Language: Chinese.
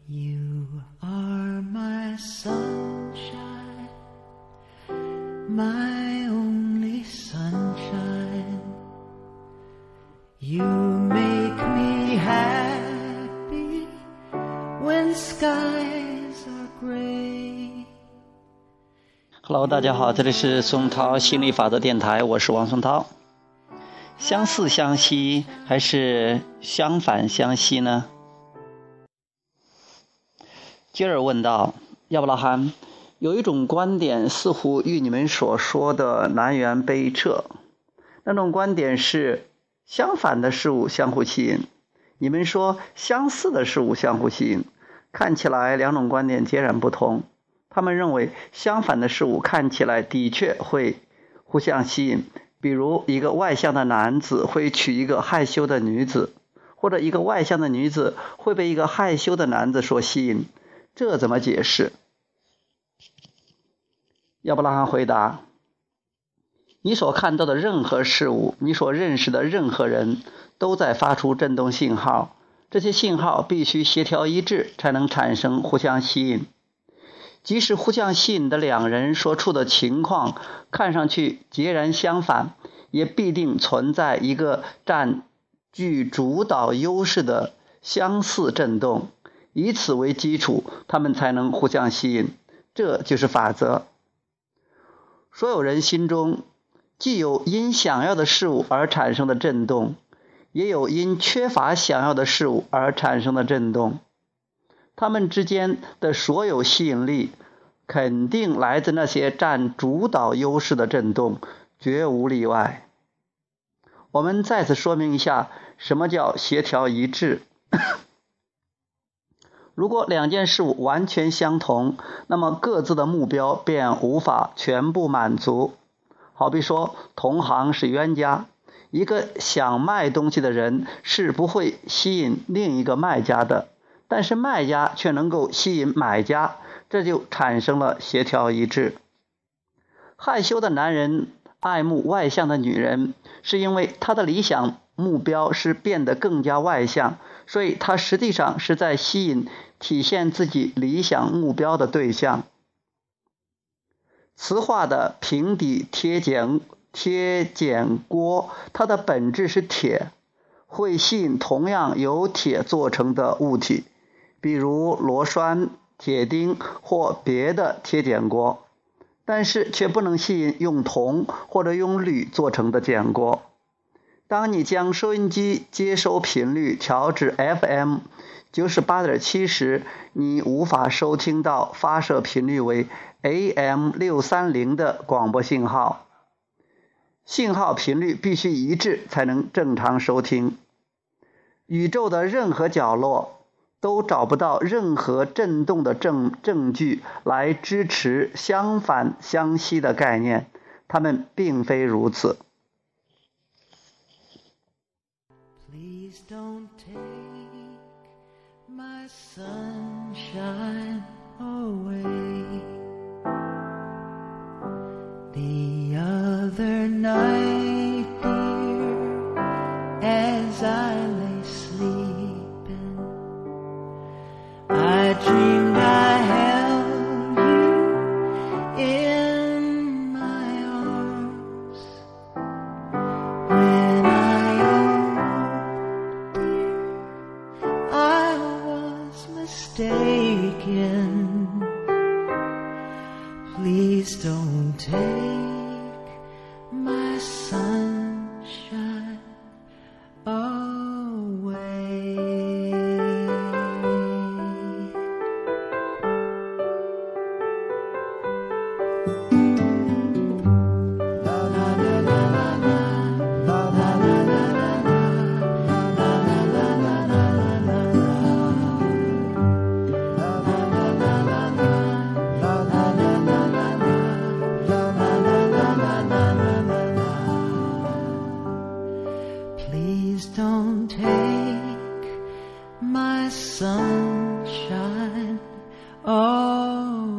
You are my sunshine, my only sunshine. You make me happy when skies are gray. Hello， 大家好，这里是松涛心理法则电台，我是王松涛。相似相惜还是相反相惜呢？接着问道，亚伯拉罕，有一种观点似乎与你们所说的南辕北辙，那种观点是相反的事物相互吸引，你们说相似的事物相互吸引，看起来两种观点截然不同。他们认为相反的事物看起来的确会互相吸引，比如一个外向的男子会娶一个害羞的女子，或者一个外向的女子会被一个害羞的男子所吸引，这怎么解释？亚伯拉罕回答，你所看到的任何事物，你所认识的任何人都在发出振动信号，这些信号必须协调一致才能产生互相吸引。即使互相吸引的两人所处的情况看上去截然相反，也必定存在一个占据主导优势的相似振动，以此为基础，他们才能互相吸引，这就是法则。所有人心中既有因想要的事物而产生的振动，也有因缺乏想要的事物而产生的振动，他们之间的所有吸引力肯定来自那些占主导优势的振动，绝无例外。我们再次说明一下什么叫协调一致。如果两件事物完全相同，那么各自的目标便无法全部满足。好比说，同行是冤家，一个想卖东西的人是不会吸引另一个卖家的，但是卖家却能够吸引买家，这就产生了协调一致。害羞的男人爱慕外向的女人，是因为他的理想目标是变得更加外向，所以他实际上是在吸引体现自己理想目标的对象。磁化的平底贴碱锅，它的本质是铁，会吸引同样由铁做成的物体，比如螺栓、铁钉或别的贴碱锅，但是却不能吸引用铜或者用铝做成的碱锅。当你将收音机接收频率调至 FM 98.7 时，你无法收听到发射频率为 AM 630的广播信号，信号频率必须一致才能正常收听。宇宙的任何角落都找不到任何振动的证据来支持相反相吸的概念，它们并非如此。 Please don't take my sunshine away. The other night, dear, as I lay sleeping, I dreamed I held you in my arms. When I awoke, dear, I was mistaken. Please don't take my sunshine away. Please don't take my sunshine away.